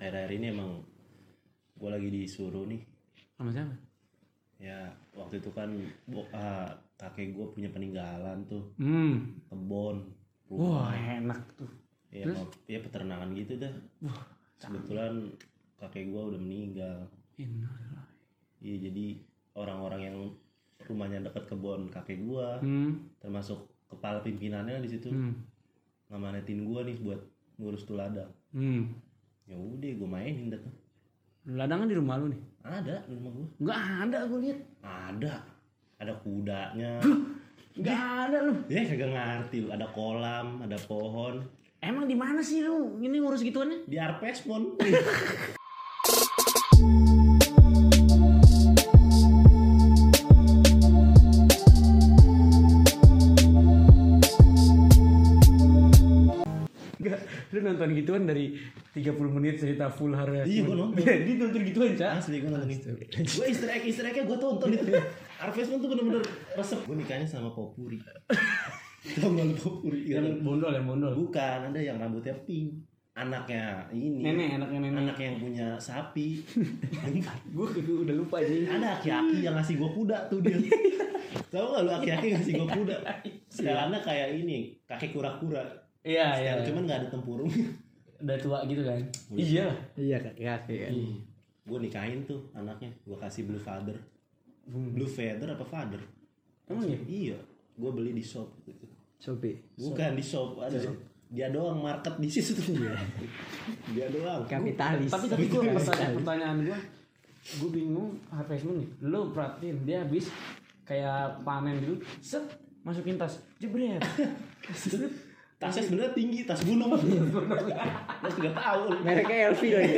akhir-akhir ini emang gue lagi disuruh nih. Sama siapa? Ya waktu itu kan kakek gue punya peninggalan tuh, kebon, Wah enak tuh. Ya, ya peternakan gitu dah. Kebetulan kakek gue udah meninggal. Iya, jadi orang-orang yang rumahnya dekat kebun kakek gue, termasuk kepala pimpinannya di situ, ngamanetin gue nih buat ngurus tuh ladang. Ya udah, gue mainin dah tuh. Ladang kan di rumah lu nih? Ada di rumah gue. Nggak ada, gue lihat. Ada kudanya. Nggak ada lu. Ya kagak ngerti lu. Ada kolam, ada pohon. Emang di mana sih lu? Ini ngurus gituannya? Di Arpesmon. Enggak, lu nonton gituan dari 30 menit cerita full harga. Iya, gue nonton. Dia nonton gituan, Cak. Asli gue nonton itu. Gue easter egg-nya gue tonton itu. Arpesmon tuh bener-bener resep. Gue nikahnya sama Popuri. Tau gak lu Popuri? Yang bondol. Bukan, ada yang rambutnya pink. Anaknya ini. Anaknya nenek. Anak yang punya sapi. Gue udah lupa ini. Ada aki-aki yang ngasih gue kuda tuh dia. Tahu gak lu aki-aki ngasih gue kuda? Sekarangnya kayak ini, kakek kura-kura. Iya. Cuman gak ada tempurung. Udah tua gitu kan? Iya. Iya kakek kan. Gue nikahin tuh anaknya. Gue kasih blue feather. Blue feather apa feather? Emang ya? Iya. Gue beli di shop gitu. Shopee. Bukan di shop, ada. Dia doang market di situ tuh. Dia doang. Kapitalis. Tapi gue pertanyaan gue bingung Harvestmoon nih. Lo perhatiin dia habis kayak panen gitu, set masukin tas, jebret. Tasnya sebenarnya tinggi, tas gunung. Mas nggak tahu. Mereknya LV lagi.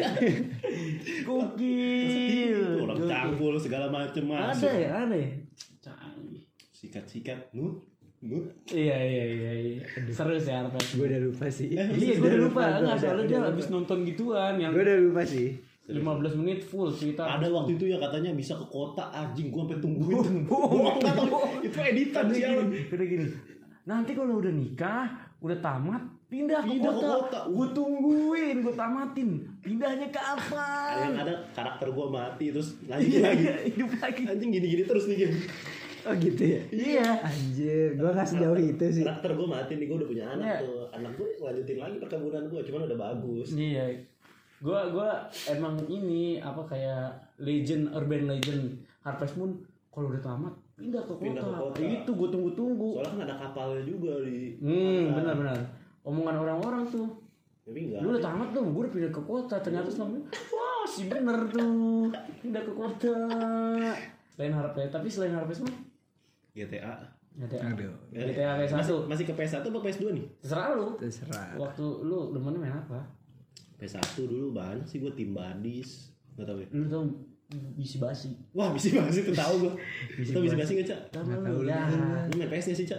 Gokil. Orang cangkul segala macem Ada masuk. ya. Canggih. Sikat-sikat, nut. Iya. Seru sih Harvestmoon. Gue udah lupa sih. Iya, gue udah lupa. Enggak, soalnya dia habis nonton gituan yang Gue udah lupa sih. 15 menit full cerita. Ada waktu itu ya katanya bisa ke kota, anjing gua sampai tungguin. Gua nggak tahu itu editan sih. Udah gini. Nanti kalau udah nikah, udah tamat, pindah ke kota. Gue tungguin, gue tamatin. Pindahnya kapan? Yang ada karakter gua mati terus lanjut lagi. Hidup lagi. Anjing gini-gini terus nih game. Oh gitu ya? Iya. Anjir, gue gak sejauh itu sih. Karakter gua mati nih, gua udah punya anak Iya. tuh. Anak gua lanjutin lagi perkebunan gua, cuman udah bagus. Iya. Gue emang ini apa kayak urban legend Harvestmoon kalau udah tamat pindah ke kota. Itu gue tunggu. Soalnya kan ada kapalnya juga di. Benar. Omongan orang-orang tuh. Tapi enggak. Lu udah tamat tuh, gue udah pindah ke kota. Ternyata selama wah sih bener tuh pindah ke kota. Tapi selain Harvestmoon GTA. GTA PS1. Masih ke PS1 apa PS2 nih? Terserah lu. Terserah. Waktu lu demennya main apa? PS1 dulu banyak sih, gue tim badis. Gak tau ya. Lu tau bisi basi. Wah, bisi basi tuh tahu gue. Lu bisi basi gak, Cak? Tahu lu. Lu main PS nya sih, Cak?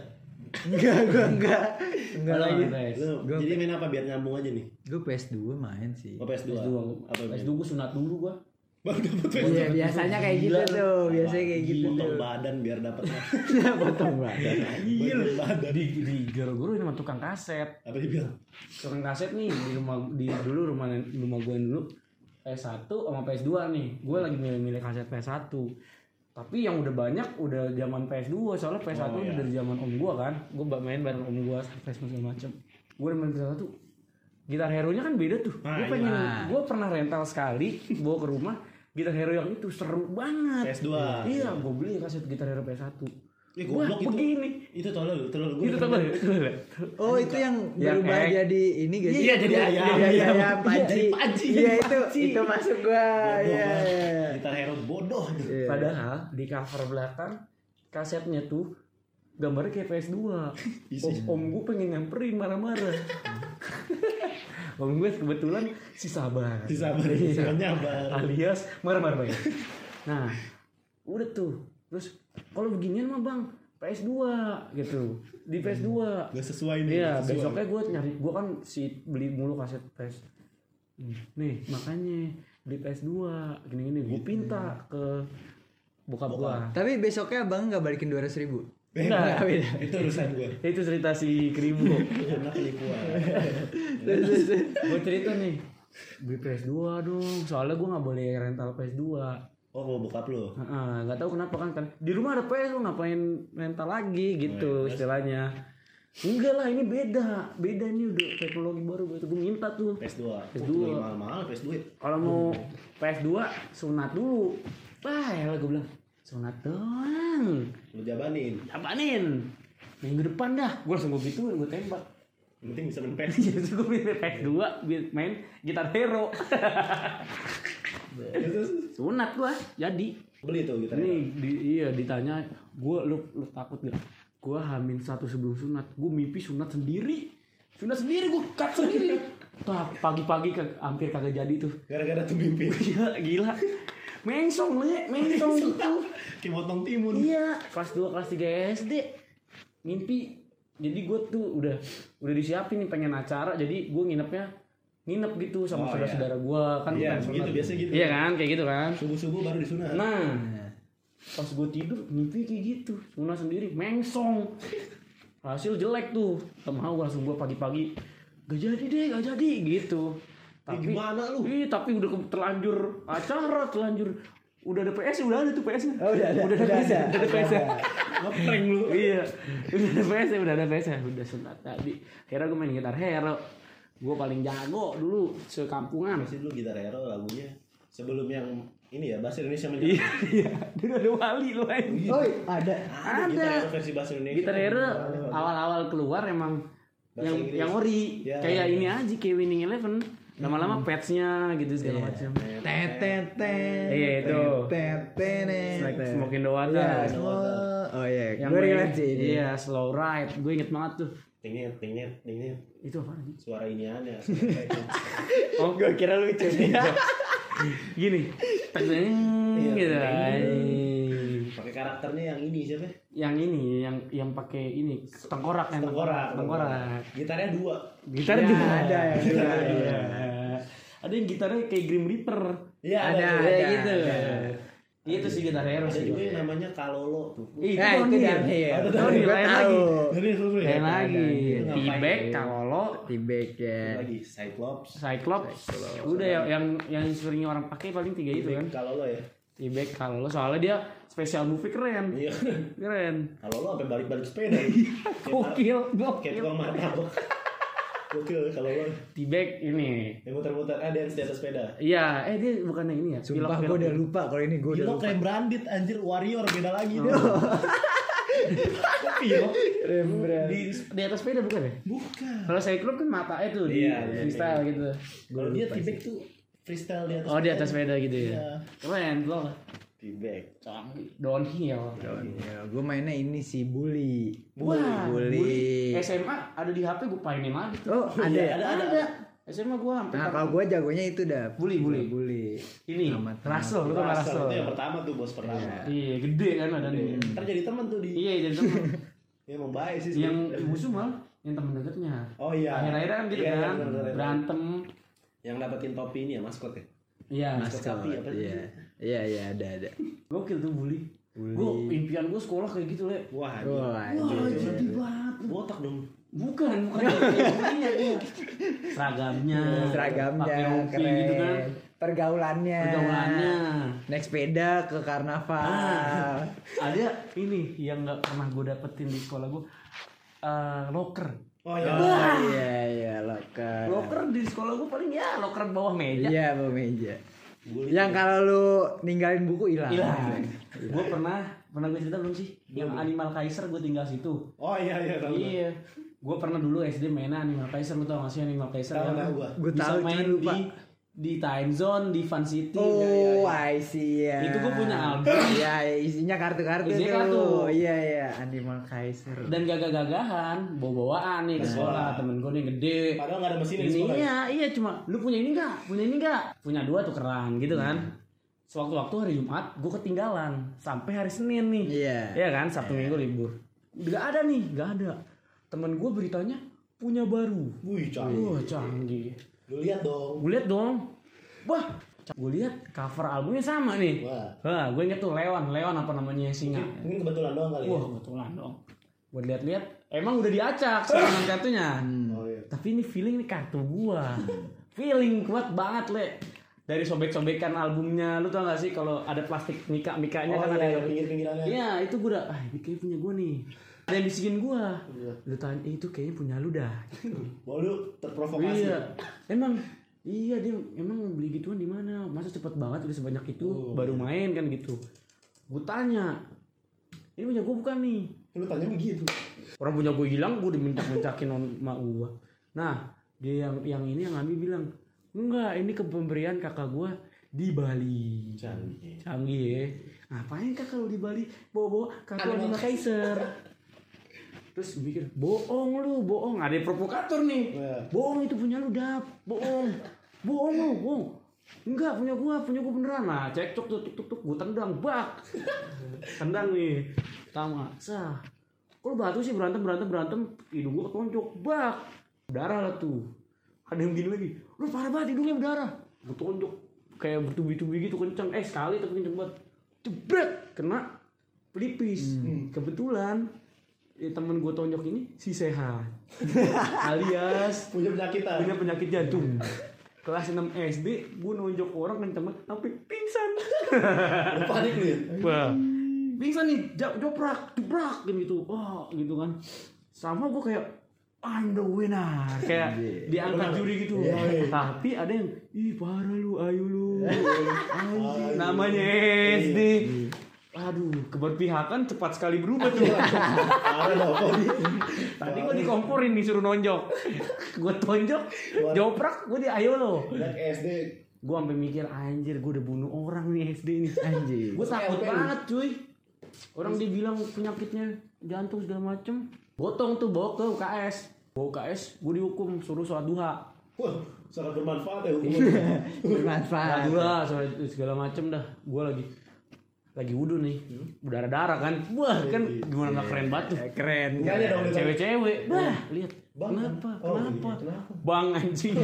Enggak lagi. Jadi main apa biar nyambung aja nih? Gue PS2 main sih. Oh, PS2. Apa PS2 gue sunat dulu gua. Baru dapat PS2. Iya, biasanya kayak gitu tuh. Biasanya kayak gitu tuh. Potong badan biar dapatnya. Potong badan. Potong badan. Di goro-goro ini sama tukang kaset. Apa dibilang? Tukang kaset nih dulu rumah gue dulu PS1 sama PS2 nih. Gue lagi milih kaset PS1. Tapi yang udah banyak udah zaman PS2, soalnya PS1 udah dari zaman om gue kan. Gue main bareng om gue PS segala macem. Gue udah main PS1. Gitar Hero-nya kan beda tuh. Gue pernah rental sekali bawa ke rumah. Gitar Hero yang itu seru banget. PS2. Iya, gue beli kaset Gitar Hero PS1. Goblok itu. Begini. Itu tolol gue. Itu tolol. Oh, itu yang berubah jadi ini guys. Iya, jadi ayam. Panci. Iya, itu masuk gua. Iya. Gitar Hero bodoh tuh. Padahal di cover belakang kasetnya tuh gambarnya kayak PS2. Om gue pengen nyamperin marah-marah. Om gue kebetulan si sabar. Alias marah-marah banget. Nah, udah tuh. Terus kalau beginian mah bang PS2 gitu. Di PS2 Gak sesuai nih. Iya, besoknya gue nyari. Gue kan beli mulu kaset PS. Nih, makanya beli PS2 gini-gini. Gue pinta ke bokap gue. Tapi besoknya abang gak balikin 200.000? Enggak, itu urusan gue. Itu cerita si Kribo. Anak penipuan. Gue cerita nih, beli PS2 dong. Soalnya gue nggak boleh rental PS2. Oh, mau bokap lu. Nggak tahu kenapa kan di rumah ada PS, lu ngapain rental lagi gitu istilahnya. Enggak lah, ini beda ini udah teknologi baru gitu. Gue minta tuh PS2. PS2. Mahal PS2. Kalau mau PS2 sunat dulu. Wah, ya gue bilang sunat doang. Lu jabanin. Minggu depan dah. Gue langsung gue gituin, gue tembak. Yang penting bisa main PS. Jadi gue main PS2, main Gitar Hero. Sunat gue, jadi. Beli tuh gitu. Iya ditanya, lu takut gak? Gue hamil 1 sebelum sunat, gue mimpi sunat sendiri, gue cut sendiri. Wah, pagi-pagi hampir kagak jadi tuh. Gara-gara tuh mimpi. Iya, gila. Mengsong gitu. Kayak motong timun. Iya, kelas 2 kelas 3 SD. Mimpi. Jadi gue tuh udah disiapin nih pengen acara, jadi gue nginep gitu sama saudara-saudara gue kan. Iya, begitu biasa gitu. Iya kan, kayak gitu kan. Subuh-subuh baru disunat. Nah, pas gue tidur mimpi kayak gitu, sunat sendiri, mengsong. Hasil jelek tuh. Mau langsung gue pagi-pagi gak jadi gitu. Tapi gimana lu? Tapi udah terlanjur acara, udah ada PS, udah ada tuh PS-nya. Oh, udah ada PS. Ngeprank lu. Iya. Udah ada PS, udah sunat tadi. Akhirnya gue main Gitar Hero. Gue paling jago dulu sekampungan. Masih dulu Gitar Hero lagunya sebelum yang ini ya bahasa Indonesia menjadi. Iya. Dulu ada Wali lu aja. Oh, ada. Gitar Hero versi bahasa Indonesia. Gitar Hero awal-awal keluar emang yang ori ya, kayak ini aja kayak Winning Eleven. Lama-lama patch-nya gitu segala macam. Iya itu. Smokin the Water. Oh iya. Yang Gue relate sih ini. Iya, Slow Ride. Gue inget banget tuh. Tingnet. Itu apa nih? Suara iniannya. Oh, gue kira lucu nih. Gini. Gitu. Pakai karakternya yang ini siapa? Yang ini yang pakai ini tengkorak. Gitarnya 2. Gitar Ya, juga ada yang dua. Iya. Ada yang gitarnya kayak Grim Reaper. Iya, ada. Gitu. Itu sih Gitar Hero Ada sih. juga yang namanya Kalolo tuh. Itu Itu Downhill. Downhill Gue lain tahu. lagi. Lain lagi. Itu T-back, ngapain? Kalolo, T-back ya. Lagi Cyclops. Cyclops. Udah yang sering orang pakai paling 3 itu kan. Kalolo ya. T-back, Kalolo soalnya dia special movie keren. Iya. Keren. Kalolo sampai balik-balik sepeda. Gokil. Kayak tukang martabak. Gokil Kalolo. T-back ini. Yang muter-muter dance di atas sepeda. Iya, dia bukan yang ini ya. Sumpah gue udah lupa kalau ini gue udah Gila lupa. kayak branded anjir Warrior beda lagi deh. Pilok. Di atas sepeda bukan ya? Bukan. Kalau Cyclops kan matanya tuh di freestyle gitu. Kalau dia T-back tuh freestyle di atas. Oh, di atas sepeda gitu ya. Iya. Keren loh. T-back. Downhill. Ya, gue mainnya ini sih bully. Wah, bully. SMA ada di HP gue mainin lagi. Oh, ada. Iya, ada. SMA gue sampai Nah, kalau gue jagonya itu dah. Bully. Ini Russell, lu tau gak Russell? Itu yang pertama tuh bos pertama. Iya, gede kan ada nih. Ntar jadi teman tuh di. Iya, jadi temen. Ya emang baik sih. Yang musuh malah yang temen deketnya. Oh iya. Akhir-akhirnya kan gitu Iya, kan, bener-bener. berantem. Yang dapetin topi ini ya maskot ya. Iya, Sapi apa sih? Iya, ada. gokil tuh bully. Gue impian gue sekolah kayak gitu le. Wah, Wah, Jadi banget. botak dong. Bukan bullynya dia. Seragamnya pakai seragamnya rompi keren. gitu kan. Pergaulannya. Naik sepeda ke karnaval. Ada ini yang nggak pernah gue dapetin di sekolah gue, locker. Oh iya. Iya, locker. Locker di sekolah gue paling ya locker bawah meja. Iya, bawah meja. Yang kalau lu ninggalin buku hilang. Gue pernah gue cerita belum sih? Yang Animal Kaiser gue tinggal situ. Oh iya tahu. Iya. Gue pernah dulu SD mainan Animal Kaiser, lu tau gak sih Animal Kaiser? Tahu gua. Gue Bisa tahu main cuma lupa. di Time Zone, di Fun City. Oh, I see ya. Itu gue punya album. Iya, isinya kartu-kartu Isinya tuh. kartu. Iya, Animal Kaiser. Dan gagah-gagahan, bawa-bawaan nih ke sekolah. Temen gue nih gede. Padahal nggak ada mesin di Ini sekolah. iya cuma lu punya ini enggak? Punya 2 tukeran gitu kan. Sewaktu-waktu hari Jumat gue ketinggalan sampai hari Senin nih. Iya kan, Sabtu Minggu libur. Gak ada. Temen gue beritanya punya baru. Wih, canggih. Wah, canggih. Lu lihat dong. Gue lihat dong. Wah, gue lihat cover albumnya sama nih. Wah. Gue inget tuh Leon apa namanya singa. Mungkin kebetulan doang kali ya. Wah, kebetulan dong. Gue lihat-lihat emang udah diacak sama kartunya. Oh iya. Tapi ini feeling ini kartu gua. feeling kuat banget le. Dari sobek-sobekan albumnya, lu tau gak sih kalau ada plastik mikanya kan ada yang pinggir-pinggirannya. Iya itu gue udah, ini kayaknya punya gue nih. Ada yang bisikin gue. Lu tanya, itu kayaknya punya lu dah. Wah lu terprovokasi. Iya, emang iya dia emang beli gituan di mana? Masa cepet banget udah sebanyak itu baru main kan gitu. Gue tanya, ini punya gue bukan nih? Lu tanya begitu. Orang punya gue hilang, gue dimencak-mencakin sama gue. Nah, dia yang ini yang ngambil bilang, enggak, ini pemberian kakak gue di Bali. Canggih ya. Ngapain kakak lu di Bali? Bawa-bawa kakak Animal Kaiser. Terus gue mikir, bohong lu, bohong. Ada yang provokator nih. Bohong itu punya lu, Dap. Bohong. Bohong lu, bohong. Enggak, punya gua beneran. Nah, cekcok tuk, gua tendang, bak. Tendang nih. Tama, sah. Kok lu batu sih berantem, hidung gua ketonjok, bak. Darah lah tuh. Ada yang gini lagi. Lu parah banget hidungnya berdarah. Gua tonjok kayak bertubi-tubi gitu kenceng. Sekali tapi kenceng banget. Jebret, kena pelipis. Kebetulan temen gue tonjok ini si sehat alias punya penyakit jantung. Kelas 6 SD gue nonjok orang kenceng banget sampai pingsan. Panik nih. Wah, pingsan nih, joprak gitu. Wah, gitu kan. Sama gue kayak I'm the winner, kayak diangkat juri gitu. Tapi ada yang parah lu, ayo lu. Namanya SD. Aduh, keberpihakan cepat sekali berubah tuh. Tadi gue dikomporin disuruh nonjok. Gue tonjok, joprak, gue ayo lo. SD. Gue sampai mikir anjir, gue udah bunuh orang nih SD nih. Anjir. Gue takut banget cuy. Orang dibilang penyakitnya jantung segala macem. Botong tuh bawa ke UKS. Gue dihukum suruh sholat duha. Wah, sangat bermanfaat ya hukuman. Bermanfaat. Sholat duha segala macem dah. Gue lagi wudhu nih, berdarah-darah kan, wah kan gimana nggak keren banget tuh, Keren. cewek-cewek, lihat, kenapa, bang anjing,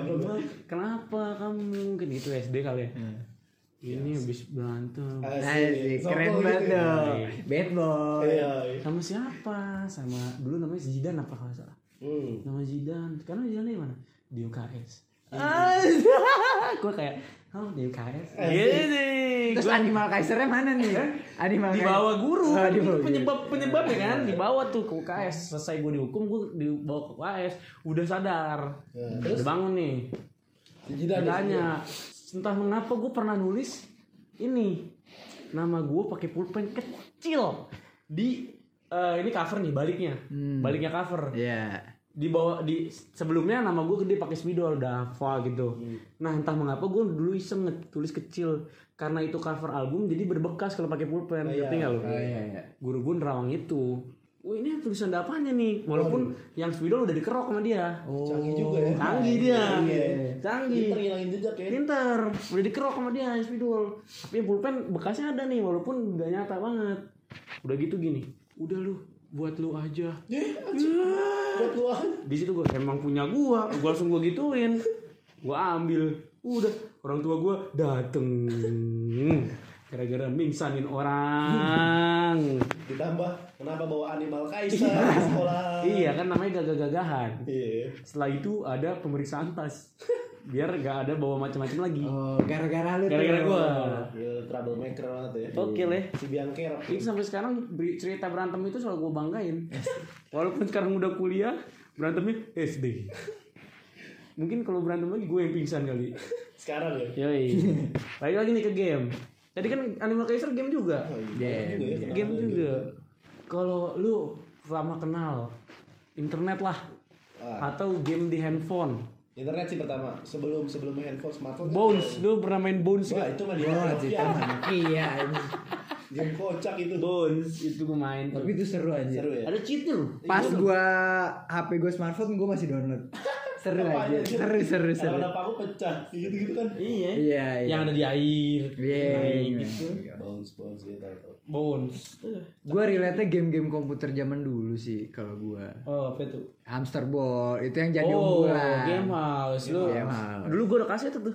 kenapa kamu, mungkin itu SD kali ya, ini habis berantem, Asik, keren banget dong, bad boy. sama siapa, sama dulu namanya Zidane apa kalau salah, nama Zidane, sekarang Zidane di mana, di UKS. Gue kayak di UKS. Terus Animal Kaisernya mana nih? Animal Di bawah guru. Itu penyebabnya kan dibawa tuh ke UKS. Selesai gue dihukum, gue dibawa ke UKS. Udah sadar. Udah bangun nih. Tanya, entah mengapa gue pernah nulis ini nama gue pakai pulpen kecil di ini cover nih baliknya cover. Iya. Di sebelumnya nama gue gede pakai spidol udah hafal gitu. Nah entah mengapa gue dulu iseng tulis kecil karena itu cover album jadi berbekas kalau pakai pulpen. Ngerti nggak lo? Guru gue nerawang itu. Wah ini tulisan apanya nih? Walaupun yang spidol udah dikerok sama dia. Canggih juga ya. Canggih dia. Canggih. Pinter ngilangin jejak ya. Pinter. Udah dikerok sama dia yang spidol. Tapi yang pulpen bekasnya ada nih walaupun gak nyata banget. Udah gitu gini. Udah lu buat lu aja. Buat lu aja. Di situ gue emang punya gue langsung gue gituin, gue ambil, udah orang tua gue dateng, gara-gara mingsanin orang. Ditambah kenapa bawa Animal Kaiser di sekolah? Iya kan namanya gagah-gagahan. Iya. Setelah itu ada pemeriksaan tas, biar gak ada bawa macam-macam lagi. Oh, gara-gara lu. Gara-gara gue. Ya, troublemaker banget ya. Oke leh. Si Biangker. Itu sampai sekarang cerita berantem itu selalu gue banggain. Walaupun sekarang udah kuliah, berantemnya SD. Mungkin kalau berantem lagi gue yang pingsan kali. Sekarang ya. Yoi. Balik lagi nih ke game. Tadi kan Animal Kaiser game juga. Game juga. Kalau lu lama kenal internet lah atau game di handphone. Internet sih pertama, sebelum handphone, smartphone. Bones, lu pernah main Bones Wah, gak? itu mah dia. Iya. Game kocak itu. Bones, itu gue main. Tapi itu seru aja. Seru ya. Ada cheatnya lu. Pas gua HP gua smartphone gua masih download. Seru aja. Seru. Kalau aku pecah, gitu kan. Iya. Iya. Yang ada di air. Iya. Gitu. Bones gitu. Bones. Gua relate game-game komputer zaman dulu sih kalau gua. Oh, apa itu? Hamster Ball itu yang jadi Oh, unggulan. Game House lu. Game House. Dulu gue udah kasih itu tuh.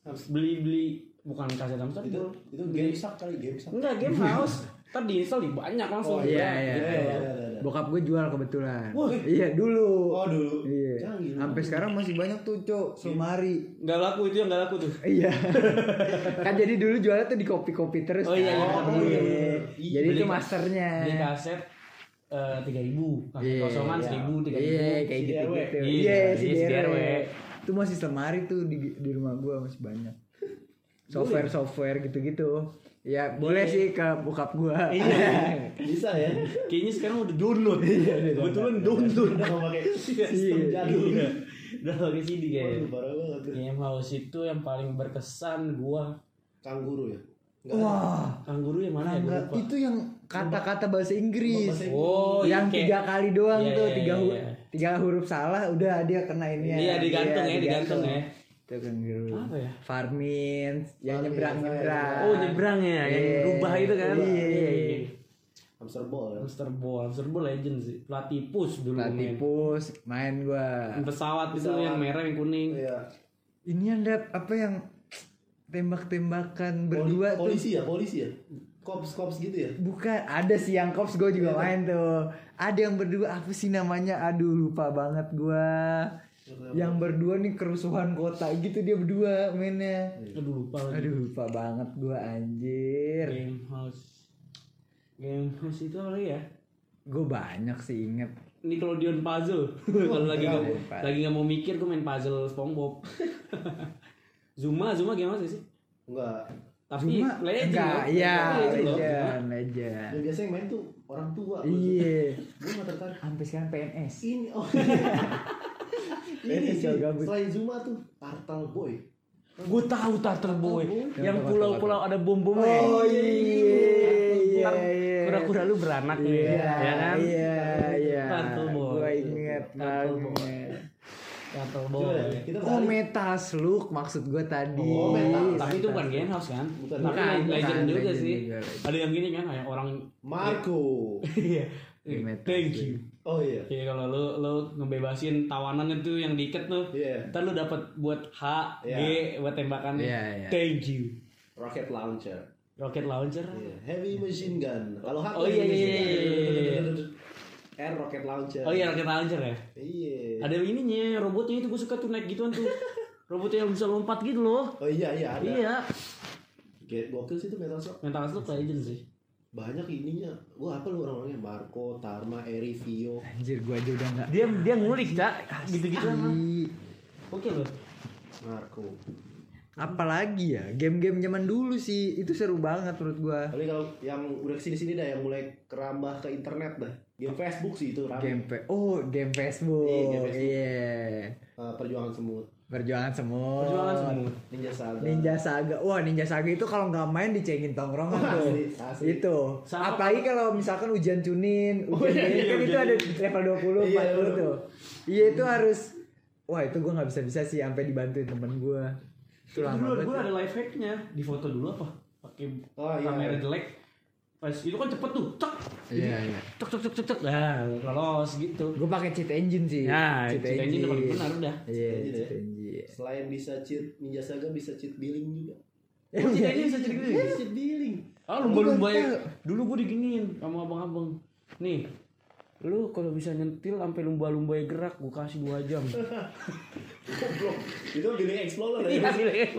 Beli bukan kaset hamster ball. Itu game sak kali, game sak. Enggak, game house. Ntar diinstal banyak langsung. Iya. Bokap gue jual kebetulan. Iya dulu. Oh dulu. Iya. Canggih. Sampai sekarang masih banyak tuh, Cok, Sulmari. Enggak laku itu yang enggak laku tuh. Iya. Kan jadi dulu jualnya tuh di kopi-kopi terus. Oh iya, kan? iya. Jadi itu masternya. Beli kaset 3.000, kaset kosongan 1.000, 3.000. Iya, kayak gitu-gitu. Iya, si DRW. DRW. Itu masih lemari tuh di rumah gua masih banyak. Software gitu-gitu. Ya, boleh sih ke bokap gua. Iya. Bisa ya. Kayaknya sekarang udah download. Kebetulan download. Udah nggak pakai sistem jadul. Udah pakai CD kayaknya. Waduh, parah banget. Game house itu yang paling berkesan gua. Kangguru ya. Wah, Kangguru yang mana ya? Gua enggak, lupa. itu yang kata-kata bahasa Inggris. Oh, yang kayak- 3 kali doang Iya, tuh, iya, iya. 3 huruf salah udah dia kena ini ya. Iya, digantung ya, digantung ya. Itu kan gitu. Apa ya? Farmin, yang Farmin, nyebrang-nyebrang. Oh, nyebrang ya, yang Iya. rubah itu kan. Iya. Hamster ball ya. Hamster ball legend sih. Platypus dulu main. Latipus main gua. Pesawat itu yang merah yang kuning. Iya. Ini yang apa yang tembak-tembakan berdua tuh. Polisi ya. Cops gitu ya. Bukan, ada sih yang cops gue juga main tuh. Ada yang berdua apa sih namanya? Aduh lupa banget gua. Yang berdua nih kerusuhan kota gitu dia berdua mainnya. Aduh lupa lagi. Aduh lupa banget gua anjir. Game house itu apa lagi ya? Gue banyak sih inget. Nickelodeon puzzle. Kalau lagi nggak mau mikir gue main puzzle SpongeBob. Zuma game house sih? Enggak. Tapi Cuma legend enggak, loh. iya Legend loh. legend. Yang biasa yang main tuh orang tua. Iya. Gue nggak tertarik. Sampai sekarang PNS. Ini ini PNS sih. jauh gabut. Selain Zuma tuh Turtle Boy. Gue tahu Turtle Boy. Yang Yang pulau-pulau ada bom-bomnya. Oh iya. Ntar kura-kura lu beranak nih, ya kan? Iya. Turtle Boy. Gue inget Turtle Boy. banget. Turtle Coba Boy. ya, kita Oh balik. Metasluk maksud gue tadi. Oh, Metasluk. Tapi itu bukan game house kan? Bukan. Tapi Bukan, legend bukan, juga legend sih. juga, legend. Ada yang gini kan, kayak orang Marco. Iya. Metasluk. Thank you. Oh iya. Kayak kalau lu ngebebasin tawanan itu yang diikat tuh, Iya. ntar lu dapat buat H, Iya. G buat tembakannya. Iya, iya. Thank you. Rocket launcher. Rocket launcher. Iya. Heavy machine gun. Kalau H Oh, iya, iya. R rocket launcher. Oh iya rocket launcher ya. Iya. Ada ininya, robotnya itu gue suka tuh naik gituan tuh. Robotnya yang bisa lompat gitu loh. Oh iya ada. Iya. Kayak gokil sih itu Metal Slug. Mental Slug legend sih. Banyak ininya. Gua apa lu orang-orangnya? Marco, Tarma, Eri, Vio. Anjir gue aja udah enggak. Dia ngulik, Cak. Gitu-gitu emang. Oke loh. Marco. Apalagi ya game-game zaman dulu sih itu seru banget menurut gua. Tapi kalau yang udah kesini-sini dah, yang mulai kerambah ke internet dah. Game Facebook sih itu ramai. Game Facebook. Iya, game Facebook. Iya. Perjuangan semut. Perjuangan semut. Perjuangan semut. Ninja Saga. Ninja Saga. Wah, Ninja Saga itu kalau nggak main dicengin tongkrongan tuh. Asli. Itu. Sama- Apalagi kalau misalkan ujian cunin, ujian cunin kan itu ada level 20, 40 Iya, tuh. Iya, itu harus. Wah, itu gua nggak bisa sih sampai dibantuin temen gua. Itu lama Dulu banget. gue ada life hacknya. Di foto dulu apa? Pakai Oh, iya. kamera jelek. Pas itu kan cepet tuh. Cek. Iya, iya. Cek. Nah, lolos gitu. Gua pakai cheat engine sih. Nah, cheat engine udah paling benar udah. Iya, Cheat engine cheat ya? engine. Selain bisa cheat Ninja Saga, bisa cheat billing juga. Oh, cheat engine bisa cheat engine. Cheat billing. Ah, lumba-lumba ya. Dulu gue diginiin sama abang-abang. Nih, lu kalau bisa nyentil sampai lumba-lumba gerak, gue kasih 2 jam. Goblok. Itu billing explorer Iya, ya.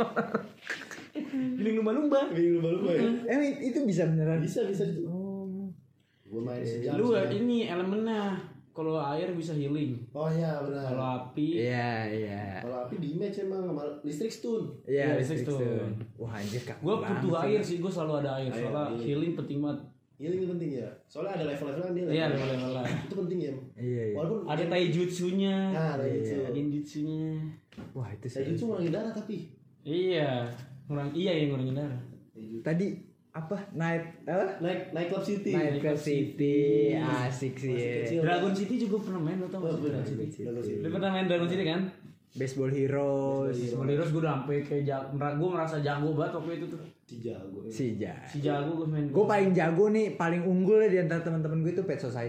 giling lumba-lumba. Billing lumba-lumba ya. Itu bisa beneran. Bisa. Oh. Gua main sejam. Lu sejam. ini elemennya. Kalau air bisa healing. Oh iya benar. Kalau api, Iya. Kalau api di match emang sama listrik stun. Iya, Iya, listrik listrik stun. Wah, anjir kaku gue banget butuh sih. air sih, gue selalu ada air. Air, Soalnya iya. healing penting banget. Healing itu penting ya. Soalnya ada level-levelan dia. Iya, level-levelan. Itu penting ya. Iya, iya. Walaupun Ada taijutsunya. Nah, taijutsu. Genjutsunya. Wah, itu sih. Taijutsu ngurangin darah tapi. Iya, yang ngurangin darah. Tadi apa? Night Club City. Night Club City. Asik sih. Masih Ya. kecil. Dragon City juga pernah main, lo tau Oh, gak sih bener. Dragon City? Dragon City. Lu pernah main Dragon City kan? Baseball Heroes. Heroes gue udah sampai kayak gue ngerasa jago banget waktu itu tuh. Si jago. Si Ja. Si jago gue main. Gue paling jago nih, paling unggul di antara teman-teman gue itu Pet Society.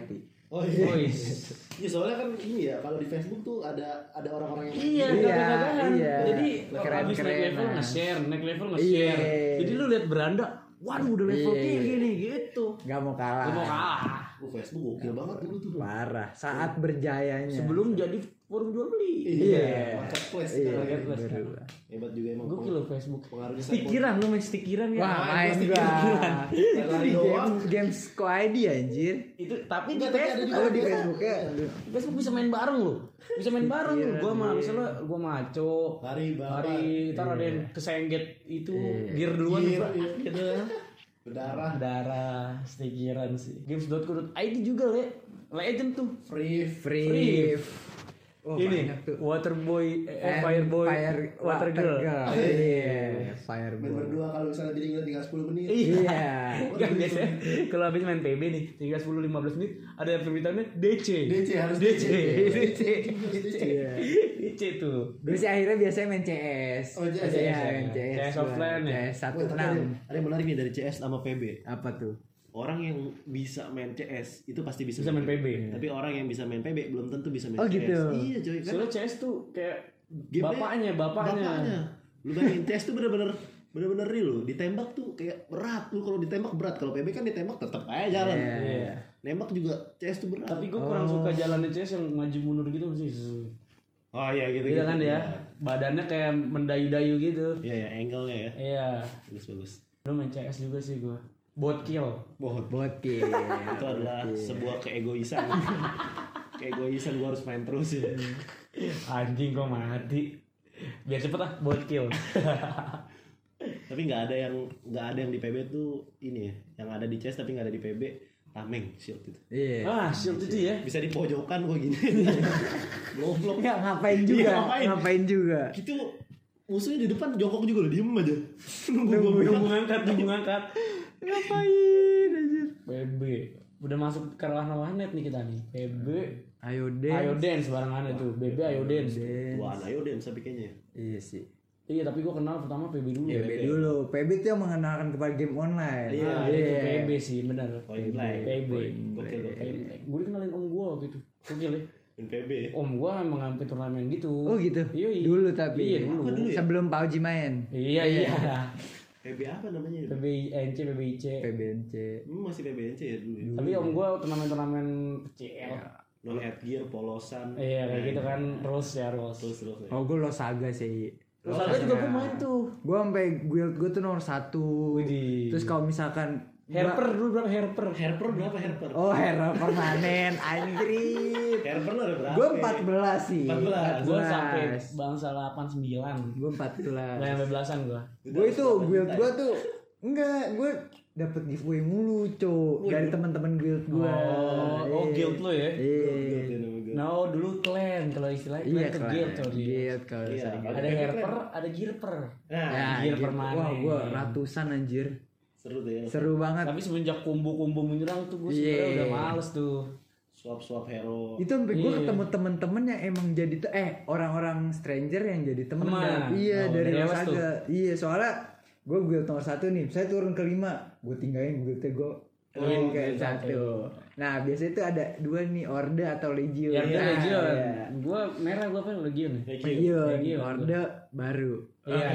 Oh iya. Wih. Ya soalnya kan ini ya, kalau di Facebook tuh ada orang-orang yang Iya, Iya, kadang-kadang. iya. Jadi Keren-keren, habis naik level nah. nge-share. Iya. Jadi lu lihat beranda, waduh udah level Iya. tinggi nih gitu. Gak mau kalah. Lu mau kalah. Facebook gokil banget dulu tuh. Parah. Saat berjayanya. Sebelum jadi forum jual beli. Iya. Marketplace Iya. sekarang. Marketplace. Berubah. Hebat juga emang. Gokil lo Facebook. Pengaruhnya Stikiran lu main stikiran ya. Wah, main gua gua. stikiran. Itu di doang. games ID anjir. Itu tapi di Enggak, tapi ada Facebook. juga Oh di Facebooknya. Facebook bisa main bareng lo. Bisa main bareng lu. Gua mah misalnya gua maco. Hari bapak. Hari ntar ada yang kesengget itu gear duluan Gear, Pak. iya. Gitu. Berdarah. Darah stikiran sih. Games.co.id juga le. Legend tuh. Free. Oh, Ini banyak tuh. Waterboy, And Fireboy, Water Girl. Iya, Main Fireboy. berdua kalau misalnya jadi tinggal 10 menit. Iya. Kan biasanya kalau habis main PB nih, tinggal 10-15 menit ada permintaannya DC. DC harus DC. DC. Iya. DC tuh. Gue sih akhirnya biasanya main CS. Oh, CS. Iya, main CS. CS gua. offline ya? CS Wah, tapi ada 16. yang menarik nih dari CS sama PB. Apa tuh? Orang yang bisa main CS itu pasti bisa Bisa main PB. Tapi orang yang bisa main PB belum tentu bisa main Oh, CS. gitu. Iya coy kan. Soalnya CS tuh kayak Gamenya- bapaknya. Lu bayangin CS tuh bener-bener real loh. Ditembak tuh kayak berat. Lu kalau ditembak berat. Kalau PB kan ditembak tetap aja jalan. Iya. Nembak juga CS tuh berat. Tapi gue kurang suka jalannya CS yang maju mundur gitu sih. Oh iya gitu. Iya kan ya. Badannya kayak mendayu-dayu gitu. Iya ya, angle-nya ya. Iya. Bagus. Lu main CS juga sih gue. Bot kill. Botki. Itu adalah sebuah keegoisan. Keegoisan gua harus main terus ya. Anjing kok mati. Biar cepet ah bot kill. Tapi nggak ada yang di PB tuh ini ya. Yang ada di CS tapi nggak ada di PB. Tameng shield itu. Iya. Ah, shield itu ya. Bisa di pojokan gua gini. Goblok. Enggak ngapain juga. Iya, ngapain juga. Gitu musuhnya di depan jongkok juga loh, diem aja. Nunggu gua Nunggu ngangkat. Ngapain anjir? PB. Udah masuk ke ranah warnet nih kita nih. PB. Ayo Ayo dance barengan itu. BB ayo dance. Wah, ayo deh tapi kayaknya. Iya sih. Iya, tapi gua kenal pertama PB dulu. PB dulu. PB itu yang mengenalkan kepada game online. Iya, Nah, itu PB sih, benar. Point blank. PB. Gokil. Gue dikenalin om gua gitu. Gokil ya. Main PB. Om gua emang ngambil turnamen gitu. Oh gitu. Iya, iya. Dulu tapi. Iya, dulu. Apa dulu ya? Sebelum PUBG main. Iya. PB apa namanya? PBNC, PBIC. PBNC. Masih PBNC ya dulu ya. Tapi om gua turnamen-turnamen kecil. Non headgear, polosan. Iya, kayak gitu kan rules ya, rules. Terus ya. Oh gue Losaga sih. Terus ada juga gua main tuh. Gue sampai guild gue tuh nomor 1. Widih. Terus kalau misalkan Herper dulu berapa Herper? Herper berapa Herper? Oh hero permanen anjir. Herper lo ada berapa? Gue 14 sih. 14. Gua sampai bangsa 89. Gue Enggak 14. sampai belasan gua. Gue itu guild gue tuh enggak, gue dapet giveaway mulu, Cok. Dari teman-teman guild gue. Oh, guild lo ya? Iya. No, dulu clan kalau istilahnya Iya, clan tuh guild coy. Guild kalau Iya, misalnya kalau Ada guild herper, ada gearper. Nah, ya, gear gitu. permanen. Wah, gue ratusan anjir. seru tuh ya. Seru banget. Tapi semenjak kumbu-kumbu menyerang tuh gue Iya. sebenarnya udah males tuh. Swap hero. Itu sampai gue Iya. ketemu temen-temen yang emang jadi orang-orang stranger yang jadi temen. Teman. Iya, Oh, dari dari awas tuh. Losaga. Iya, soalnya gue guild nomor 1 nih, saya turun ke 5, gue tinggalin guildnya gue turun ke guild 1. Nah, biasanya itu ada 2 nih, Orde atau Legion. Ya udah Nah, Legion. iya. Gue merah gue apa Legion ya? Legion, Legion. Orde baru. Iya.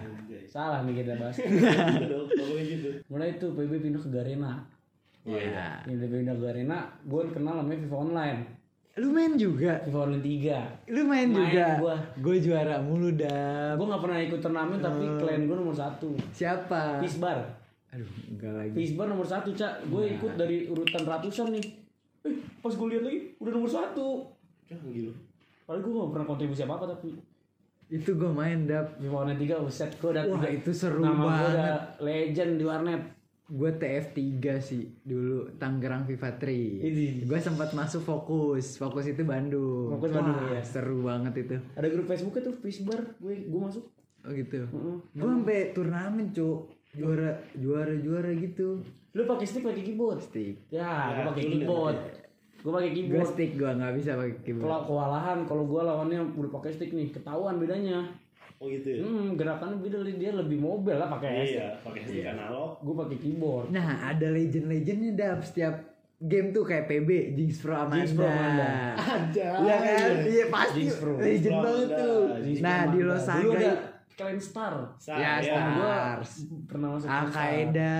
Salah nih kita bahas. Ngomongin gitu. Mulai itu PB pindah ke Garena. Iya. Pindah ke Garena, gue kenal namanya FIFA Online. Lu main juga? FIFA Online 3. Lu main juga? gua. Gue juara mulu dah. Gue gak pernah ikut turnamen tapi klan gue nomor 1. Siapa? Fisbar. Aduh, enggak lagi. Fisbar nomor 1 Cak. Gue ikut dari urutan ratusan nih. Pas gue lihat lagi udah nomor 1. Gila. Padahal gue gak pernah kontribusi apa-apa tapi Itu gue main dap. FIFA Online 3 buset gue udah Wah, itu seru nama gue banget. udah legend di warnet. Gue TF3 sih dulu, Tangerang FIFA 3. Ini. Gue sempat masuk Fokus itu Bandung. Fokus Bandung, Wah, ya. seru banget itu. Ada grup Facebooknya tuh Fisbar, gue masuk. Oh gitu. Heeh. Gue sampai turnamen, Cuk. Juara gitu. Lu pakai stick pakai keyboard? Stick. Ya, gue pakai dulu keyboard. Gue pakai Gue keyboard. stick, gue nggak bisa pakai keyboard. Kalau kewalahan, kalau gue lawannya udah pakai stick nih, ketahuan bedanya. Oh gitu ya. Gerakannya beda, dia lebih mobile lah pakai stick. Iya, pakai stick analog. Gue pakai keyboard. Nah, ada legend-legendnya dap. Setiap game tuh kayak PB, Jinx Pro Amanda. Jinx Pro Amanda. Ada. Iya kan? Iya pasti. Jinx Pro. Legend Pro banget Amanda. tuh. Jinx Nah Pro di Amanda. Los Dulu ada Saga Clan Star. ya Star. Gua Stars. pernah masuk Clan Star. Al-Qaeda.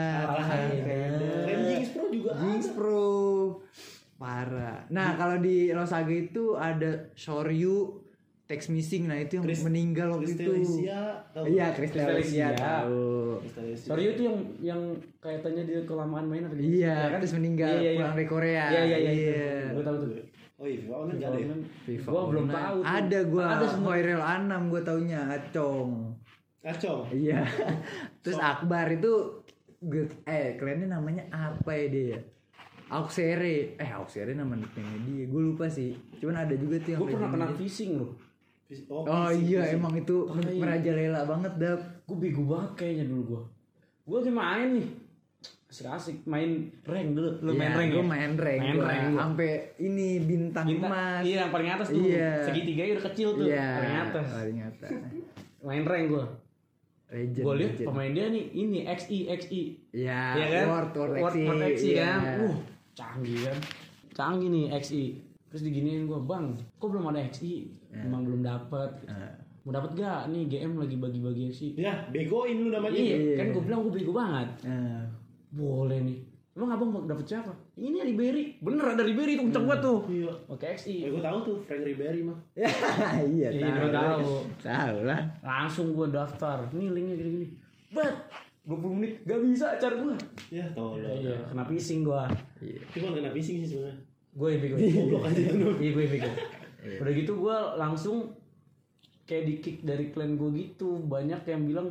Dan Jinx Pro juga Jinx ada. Pro. Parah. Nah kalau di Los Saga itu ada Shoryu, Text Missing. Nah itu yang meninggal waktu itu. Kristalesia, tahu? Iya Kristalesia Kristalesia. tahu. Kristalesia. Sorry itu yang kaitannya dia kelamaan main apa gitu. Iya, Ya kan? terus meninggal Iya, iya, pulang dari Korea. Iya. Gue tahu tuh. Oh iya, FIFA Online nggak ada ya? FIFA Gua belum Online. tahu tuh. Ada gua Ada semua. Hoirel Anam gua taunya Acong. Kacau. Iya. Terus Akbar itu kliennya namanya apa ya dia? Auxere. Auxere nama nickname dia. Gue lupa sih. Cuman ada juga tuh yang Gue pernah kena dia. phishing loh. Oh iya emang itu merajalela banget Dap. Gue bego banget kayaknya dulu gue. Gue lagi main nih. Asik-asik main rank dulu. Lu main rank Gue ya? main rank. Main Gua. rank gua. Sampai ini bintang emas. Iya yang paling atas tuh. Iya. Segitiga udah kecil tuh. Iya. Paling atas. Paling atas. Main rank gue. Legend. Gue liat legend. pemain dia nih ini XI. Iya, Iya kan? World XI Iya. kan. Canggih kan. Canggih nih XI. Terus diginiin gue, "Bang, kok belum ada XI?" Emang belum dapet. Mau dapet gak? Nih GM lagi bagi-bagi XI. Ya, begoin lu namanya. Iya, kan gue bilang gue bego banget. Nah, Boleh nih. Emang abang mau dapet siapa? Ini Ribery. Bener ada Ribery tuh kenceng banget tuh. Iya. Oke XI. Gue tahu tuh Frank Ribery mah. iya Iya, tahu. Tahu lah. Langsung gue daftar. Nih linknya gini-gini. Bet. 20 menit gak bisa acar gue. Ya, tolong. Iya, kena phishing gue. Cuma kena phishing sih sebenarnya. Gue yang bego. Goblok aja tuh. Iya gue yang bego. Udah gitu gue langsung kayak di kick dari klan gue gitu. Banyak yang bilang,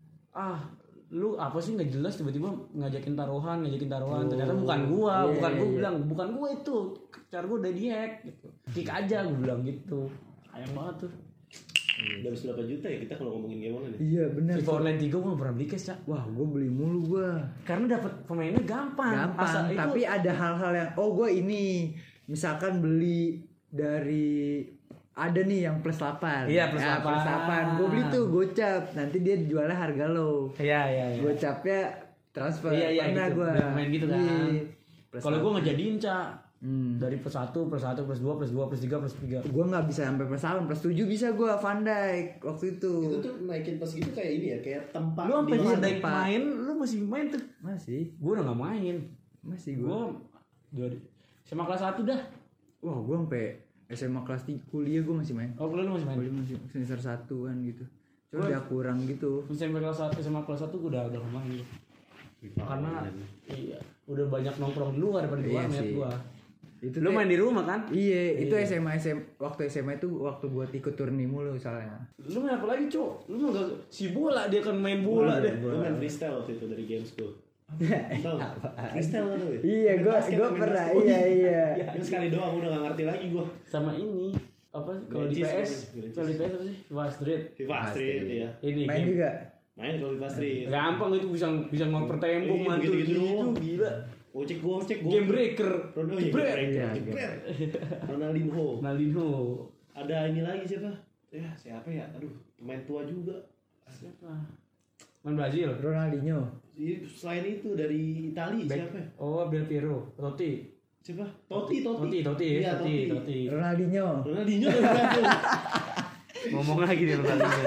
lu apa sih nggak jelas tiba-tiba ngajakin taruhan. Ternyata bukan gue bilang bukan gue itu. Cara gue udah dihack gitu. Kick aja gue bilang gitu. Sayang banget tuh. Udah habis berapa juta ya kita kalau ngomongin game online ya? Iya benar. FIFA Online 3 gue gak pernah beli cash, Cak. Wah, gue beli mulu gue. Karena dapat pemainnya gampang. Gampang. Itu, Tapi ada hal-hal yang gue ini misalkan beli dari ada nih yang plus 8. Iya, plus 8. Plus 8. Gue beli tuh gocap. Nanti dia jualnya harga low. Iya. Gocapnya transfer. Iya, Pernah gitu. gue. Udah main gitu kan. Kalau gue ngejadiin, Cak. Hmm. Dari plus 1, plus 2, plus 3, plus 3. Gue nggak bisa sampai plus 8, plus 7 bisa gue Van Dijk waktu itu. Itu tuh naikin pas gitu kayak ini ya, kayak tempat. Lu sampai di Van mana? Dijk main, lu masih main tuh. Masih Gue udah gak main. gue. Gue dari SMA kelas 1 dah. Wah, gue sampai SMA kelas 3 kuliah gue masih main. Oh, kuliah lu masih main. Kuliah masih semester 1 kan gitu. Cuma Gua- udah kurang gitu. SMA kelas 1 gue udah gak main. Karena iya, udah banyak nongkrong di luar daripada di Iya warnet sih. gua. Itu Lu teh- main di rumah kan? Iya, itu waktu SMA itu waktu buat ikut turni mulu soalnya. Lu main apa lagi, Cok? Lu mah gak si bola, dia kan main bola deh. Gue main freestyle waktu itu dari games gue. Tahu? Freestyle kan tuh ya? Iya, Main gue basket, main pernah. basket. Iya. Itu sekali doang udah gak ngerti lagi gue. Sama ini apa kalau di Games, PS? games. Kalau di PS apa sih? FIFA Street. FIFA Street ya. Ini Main game. juga. Main kalau FIFA Street. Gampang itu bisa ngoper tembok Iya, mantul gitu-gitu gitu, doang. gila. Gocek. Game breaker. Ronaldo Jebret. Iya, Ronaldinho. Nalino. Ada ini lagi siapa? Ya siapa ya? Aduh, pemain tua juga. Siapa? Main Brazil. Ronaldinho. Selain itu dari Itali Back. siapa ya? Oh, Del Piero. Totti. Siapa? Totti. Iya, Iya, Totti. Ronaldinho. Ronaldinho dari Brazil. Ngomong lagi dia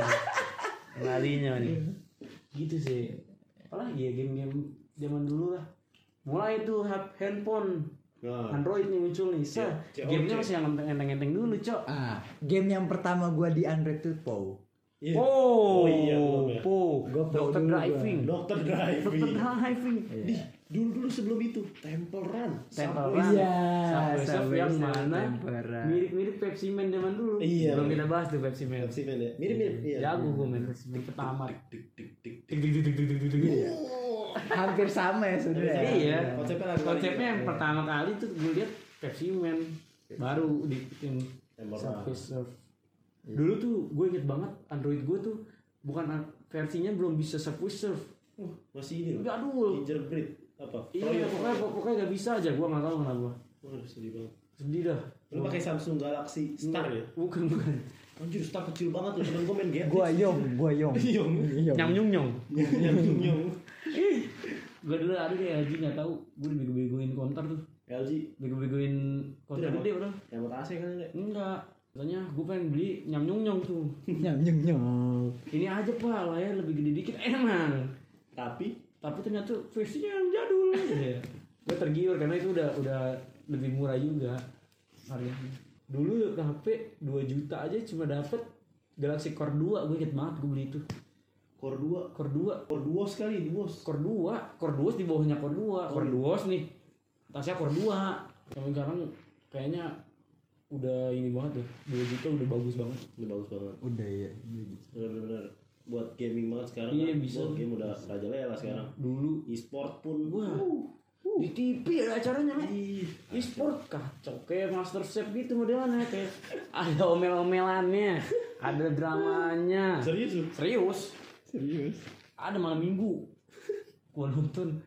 Ronaldinho nih. Gitu sih. Apalagi ya game-game zaman dulu lah. Mulai tuh handphone Nah, Android nih muncul nih. Gamenya masih yang enteng-enteng dulu, Cok. Game yang pertama gue di Android tuh POW. iya. Oh, iya, belum ya. Gua Dokter dulu, Driving. Dokter Driving. Dokter Driving. Dulu sebelum itu Temple Run. Temple Subway. Run. Iya, Subway Surf Subway yang Surf, mana Temple Run. mirip-mirip Pepsi Man zaman dulu. Iya. Belum kita bahas tuh Pepsi Man. Pepsi Man ya. Mirip-mirip. Iya. Jago gue main Pepsi Man pertama. Hampir sama ya sebenarnya. Iya. Konsepnya Yang pertama kali tuh gue lihat Pepsi Man baru bikin Temple Subway Run. Surf. Dulu tuh gue inget banget Android gue tuh bukan versinya belum bisa Subway Surf. Masih ini loh. Jadul. Gingerbread apa? Iya, pokoknya gak bisa aja. Gue nggak tahu kenapa. Waduh, sedih banget. Sedih dah. Lu pakai Samsung Galaxy Star ya? Bukan. Anjir, Star kecil banget tuh. Temen gue main game. Gua Yong. Yong. Nyam nyung. Nyong. Gue dulu ada kayak Haji nggak tahu. Gue dibego-begoin konter tuh. LG bego-begoin konten Itu gede bro. yang buat AC kan enggak? Enggak, katanya gue pengen beli nyam-nyong tuh. Nyam. Ini aja pak, layar lebih gede dikit emang. Tapi Ternyata versinya yang jadul. Ya. Gue tergiur karena itu udah lebih murah juga harganya. Dulu HP 2 juta aja cuma dapet Galaxy Core 2, gue inget banget gue beli itu. Core 2 Core 2 Core 2 sekali, Core 2 di bawahnya Core 2. Core 2 nih. Tasnya Core 2. Sampai sekarang kayaknya udah ini banget tuh. 2 juta udah bagus banget. Udah bagus banget. Udah ya. Bener-bener buat gaming banget sekarang. Iya, kan. bisa. Buat game udah rajalela sekarang. Dulu E-sport pun wah. Di TV ada acaranya men. E-sport kacau kayak Master Chef gitu modelnya, kayak ada omel-omelannya, ada dramanya. Serius? Ada malam minggu. Gua nonton.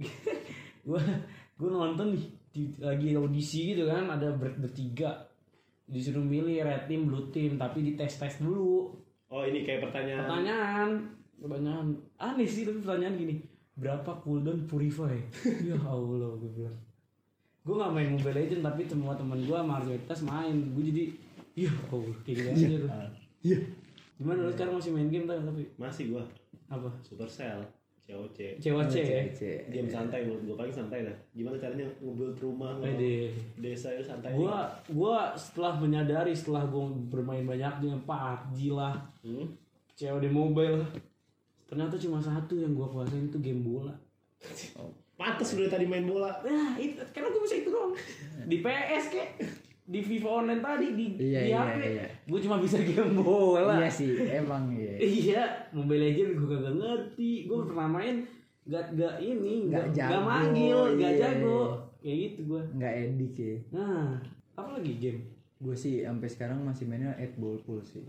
gua nonton lagi audisi gitu kan, ada bertiga. Disuruh milih red team, blue team, tapi dites dulu. Oh, ini kayak Pertanyaan aneh sih, tapi pertanyaan gini. Berapa cooldown Purify? Ya Allah, gue bilang. Gue gak main Mobile Legends, tapi semua teman gue mayoritas main. Gue jadi, ya Allah, kayak gitu aja tuh. Iya. Gimana lu sekarang masih main game tapi? Masih gua. Apa? Supercell, COC. COC ya? Game santai menurut gua, paling santai lah. Gimana caranya nge-build rumah, desa itu santai. Gua setelah menyadari, setelah gue bermain banyak dengan PUBG lah, COD Mobile, ternyata cuma satu yang gue kuasain itu game bola. Pantes udah tadi main bola. Nah, itu karena gue bisa itu doang. Di PS kek, di FIFA Online tadi, di HP, gue cuma bisa game bola. Iya sih, emang iya. Iya, Mobile Legends gue kagak ngerti. Gue pernah main, gak manggil, gak jago. Kayak gitu gue. Nggak edik ya. Nah, apa lagi game? Gue sih sampai sekarang masih mainnya Red Bull Pool sih.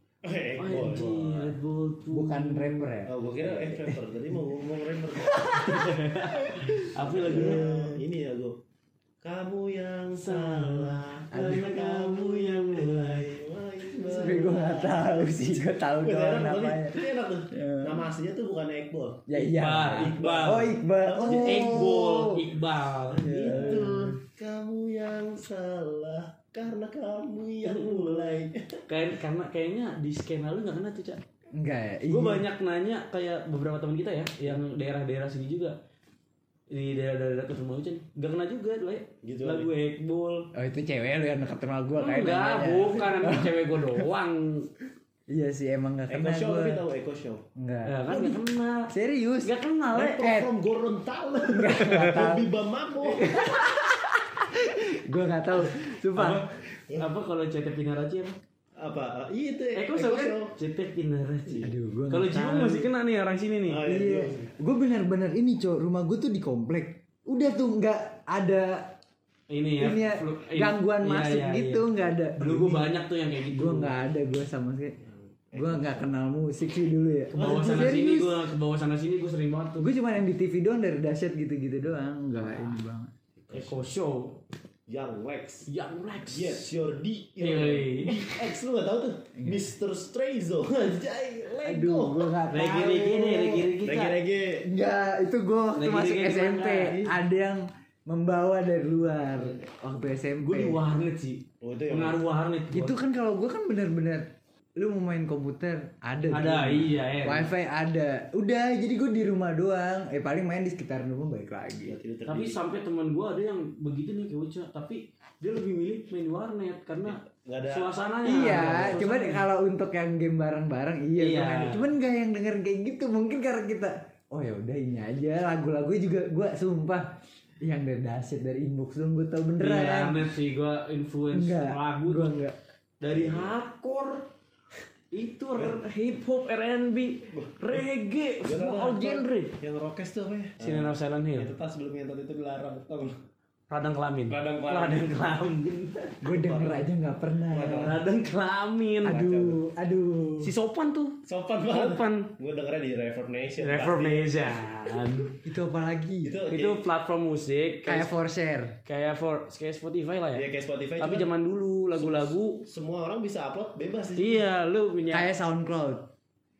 Red Bull tuh. Bukan rapper ya? Oh, gua kira rapper. Tadi mau ngomong rapper. Apa lagunya? Ini ya gua. Kamu yang salah, karena kamu yang mulai. Tapi gue nggak tahu sih, gue tahu doang namanya. Itu enak tuh. Nama aslinya tuh bukan Iqbal. Ya iya. Iqbal. Oh Iqbal. Iqbal. Itu kamu yang salah, karena kamu yang mulai. Kayaknya di skena lu nggak kena tuh Cak. Enggak ya. Gue banyak nanya kayak beberapa teman kita ya, yang daerah-daerah sini juga, di daerah-daerah dekat rumah Ucen, gak kena juga tuh ya. Gitu lagu Ekbol. Oh itu cewek lu yang dekat rumah gue kayak Enggak, bukan emang cewek gue doang. Iya sih emang gak kena Eko Show, gue. tapi tahu Eko Show? Enggak. Ya kan gak kena. Serius? Gak kena le. From Gorontalo. Hobi Bamako. Gue gak tahu. Sumpah. Apa kalau CT Pinaraci apa? Apa? Iya itu Eko Show kan? CT Pinaraci. Aduh, gue kalau Jiwon masih kena nih orang sini nih. Oh, Iya. Gue benar-benar ini cok. Rumah gue tuh di komplek. Udah tuh nggak ada Ini ya. gangguan masuk gitu, nggak ada. Dulu gue banyak tuh yang kayak gitu. Gue nggak ada, gue sama sekali. Gue nggak kenal musik sih dulu ya. Ke bawah sana sini gue sering banget tuh. Gue cuma yang di TV doang dari dahsyat gitu-gitu doang. Nggak ini banget. Eko Show. Young Lex. Yes, your D. X lu gak tau tuh? Mr. Strayzo. Anjay, Aduh, gue nggak tahu. Reggae. Enggak, itu gue waktu Lagi masuk gimana? SMP. Ada yang membawa dari luar waktu SMP. Gue di warnet sih. Oh, itu yang Pengaruh warnet. Itu kan kalau gue kan benar-benar lu mau main komputer ada Iya. wifi ada, udah jadi gue di rumah doang, paling main di sekitar rumah balik lagi. Tapi sampai teman gue ada yang begitu nih kayak Uca, tapi dia lebih milih main warnet karena Nggak ada suasananya. Iya, suasananya. cuman kalau untuk yang game bareng-bareng iya. Iya. Cuman gak yang dengerin kayak gitu, mungkin karena kita oh ya udah ini aja, lagu-lagu juga gue sumpah yang dari dahsyat dari inbox dong gue tau beneran. Iya, warnet sih gue influence lagu gue tuh. enggak. Dari hardcore itu hip hop, R&B, reggae, semua all genre. Yang rockes tuh apa ya? Sinner of Silent Hill. Itu tas sebelum ngentot itu dilarang. Tau gak? Radang kelamin. Radang kelamin. Gue denger aja nggak pernah. Radang kelamin. Aduh. Si Sopan tuh. Sopan banget. Sopan. Gue dengernya di Reverb Nation. Itu apa lagi? Itu platform musik Kayak for share. kayak Spotify lah Iya ya. kayak Spotify. Tapi cuman zaman dulu lagu-lagu semua orang bisa upload bebas sih. iya lu punya Kayak SoundCloud.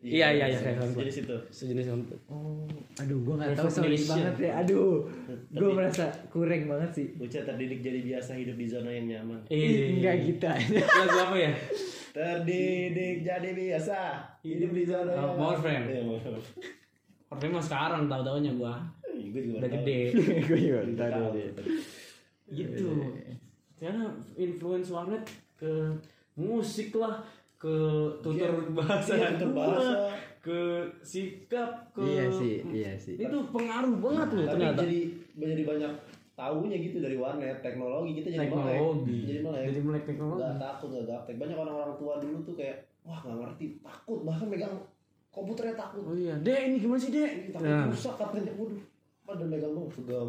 Iya kayak sejenis itu. sejenis rumput. Oh, aduh gue nggak tahu sorry Revolution. banget ya. Aduh, gue merasa kurang banget sih. Bocah terdidik jadi biasa hidup di zona yang nyaman. Enggak gitu aja. Lagu apa ya? Terdidik jadi biasa hidup di zona yang nyaman. More Friend. Iya, More Friend. Tapi mah sekarang tahu-taunya gua Gue juga udah tahu. gede. Gue juga Udah tahu. tahu. Gitu. Karena influence warnet ke musik lah, ke tutur bahasa, Iya, tutur bahasa. ke sikap, ke Iya sih. itu pengaruh banget loh Tapi ternyata. jadi banyak tahunya gitu dari warnet, teknologi kita jadi Teknologi. melek. Jadi melek teknologi. Gak takut, gak gaptek. Banyak orang-orang tua dulu tuh kayak wah gak ngerti, takut bahkan megang komputernya takut. Oh iya, Dek ini gimana sih Dek? Ini takut Nah, rusak katanya. Waduh, pada megang dong pegang.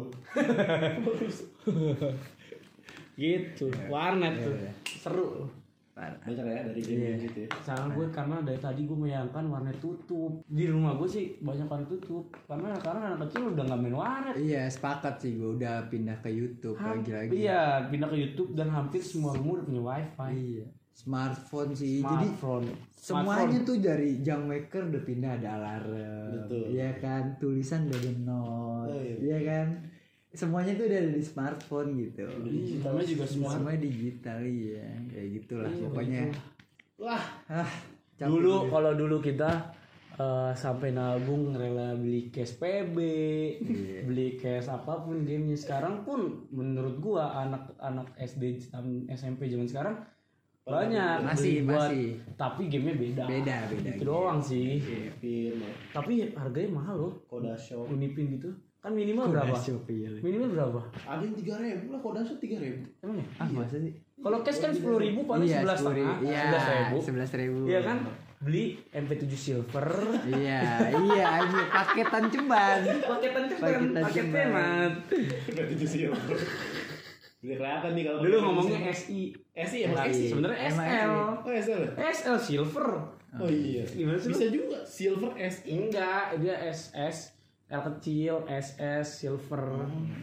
gitu. Warnet tuh seru. Banyak ya dari game gitu ya. Salah gue karena dari tadi gue menyayangkan warnet tutup. Di rumah gue sih banyak kan tutup. Karena sekarang anak kecil udah nggak main warnet. Iya sepakat sih gue udah pindah ke YouTube lagi-lagi. Iya, pindah ke YouTube dan hampir semua rumah udah punya wifi. Iya. Smartphone sih. Smartphone. Jadi semuanya tuh dari jam waker udah pindah ada alarm. Betul. Iya kan, tulisan udah ada note. Oh, iya. Iya kan. Semuanya tuh udah ada di smartphone gitu. Namanya juga semua. Semuanya digital iya. Kayak gitulah Iya, pokoknya. Wah, Capek Dulu juga. kalau dulu kita sampai nabung rela beli cash PB, beli cash apapun gamenya. Sekarang pun menurut gua anak-anak SD SMP zaman sekarang banyak Masih, beli buat, masih. tapi gamenya beda. Beda. Itu doang sih. Pin, Tapi harganya mahal loh. Koda Shop. Unipin gitu. Kan minimal berapa? Shopee ya. Minimal berapa? Ada yang 3.000 lah, Koda Shop 3.000. Emang ya? Ah masa sih? Kalau cash kan 10.000 paling 11.500. Iya, 11.000. Iya kan? Beli MP7 Silver. Iya, aja paketan ceban. Paketan cepat, Paketan paket cepat. hemat. Berarti itu sih. Udah kelihatan nih kalau Dulu ngomongnya SI. SI emang SI. Sebenarnya Emang SL. Oh, SL. SL Silver. Oh iya. Gimana sih? Bisa juga Silver SI. Enggak, dia SS, L kecil, SS, Silver.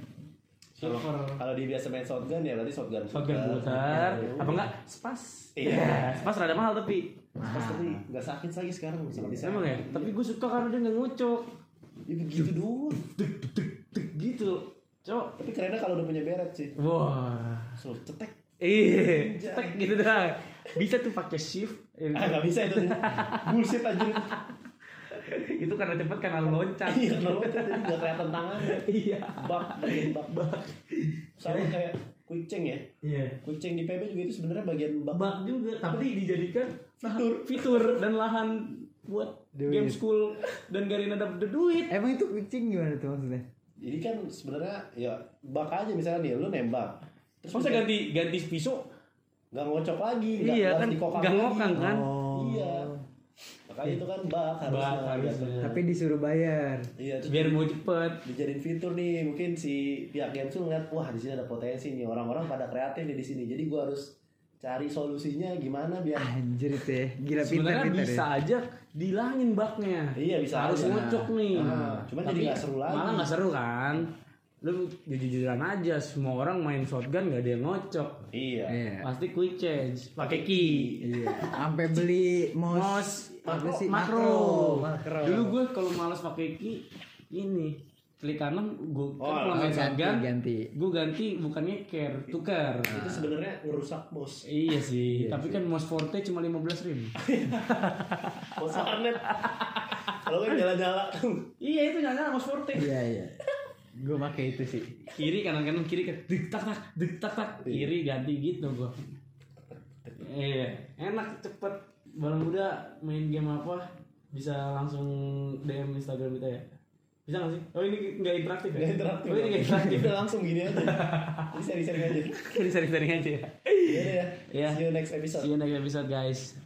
Kalau dia biasa main shotgun ya berarti shotgun. Shotgun putar. Apa enggak? Spas. Iya. Spas rada mahal tapi. Pas tapi nggak sakit lagi sekarang sangat bisa. Emang ya? Tapi gue suka karena dia nggak ngocok. Ya begitu doang. Tek gitu. Cok. Tapi kerennya kalau udah punya beret sih. Wah. So cetek. Iya, cetek gitu dah. Bisa tuh pakai shift. Ah nggak bisa itu. Bullshit aja. Itu karena cepet karena loncat. Iya kenapa jadi nggak kelihatan tangannya. Iya. Bak bagian bak. Sama kayak quick change ya. Iya. Quick change di PB juga itu sebenarnya bagian bak. Bug juga, tapi dijadikan Fitur. dan lahan buat Duit. game school dan Garina dapat duit. Emang itu kucing gimana tuh maksudnya? Jadi kan sebenarnya ya bak aja misalnya nih lu nembak. Masa ganti pisau? Nggak ngocok lagi. Iya kan, dikokang nggak lagi. ngokang kan? Iya. Makanya itu kan bak harusnya. Tapi disuruh bayar. Iya terus Biar mau cepet. dijadiin fitur nih, mungkin si pihak Gamsul ngeliat wah di sini ada potensi nih, orang-orang pada kreatif nih di sini, jadi gua harus cari solusinya gimana biar Anjir itu ya. Gila Sebenarnya pintar bisa ya. aja dihilangin bugnya. Iya, bisa Harus aja. ngocok nih. cuman jadi nggak seru lagi. Malah nggak seru kan? Lu jujur-jujuran aja, semua orang main shotgun nggak ada yang ngocok. Iya. Iya. Pasti quick change, pakai key. Iya. Sampai beli mouse apa sih? makro. Makro. Dulu gue kalau malas pakai key ini klik kanan gue Oh, kalau main shotgun ganti. gue ganti bukannya care tukar. Itu sebenarnya ngerusak mouse. Iya sih, tapi kan mouse forte cuma 15.000. Mouse warnet. Kalau kan nyala-nyala. Iya itu nyala mouse forte. Iya. Gue pakai itu sih. Kiri kanan kiri kan dek tak tak kiri ganti gitu gue. Iya enak cepet. Balang muda main game apa bisa langsung DM Instagram kita ya. Bisa gak sih? Oh ini nggak interaktif ya? Nggak interaktif. Oh ini nggak interaktif. Udah langsung gini aja. Ini seri-seri aja. Sering-sering aja ya. Iya ya. Iya. See you next episode. See you next episode guys.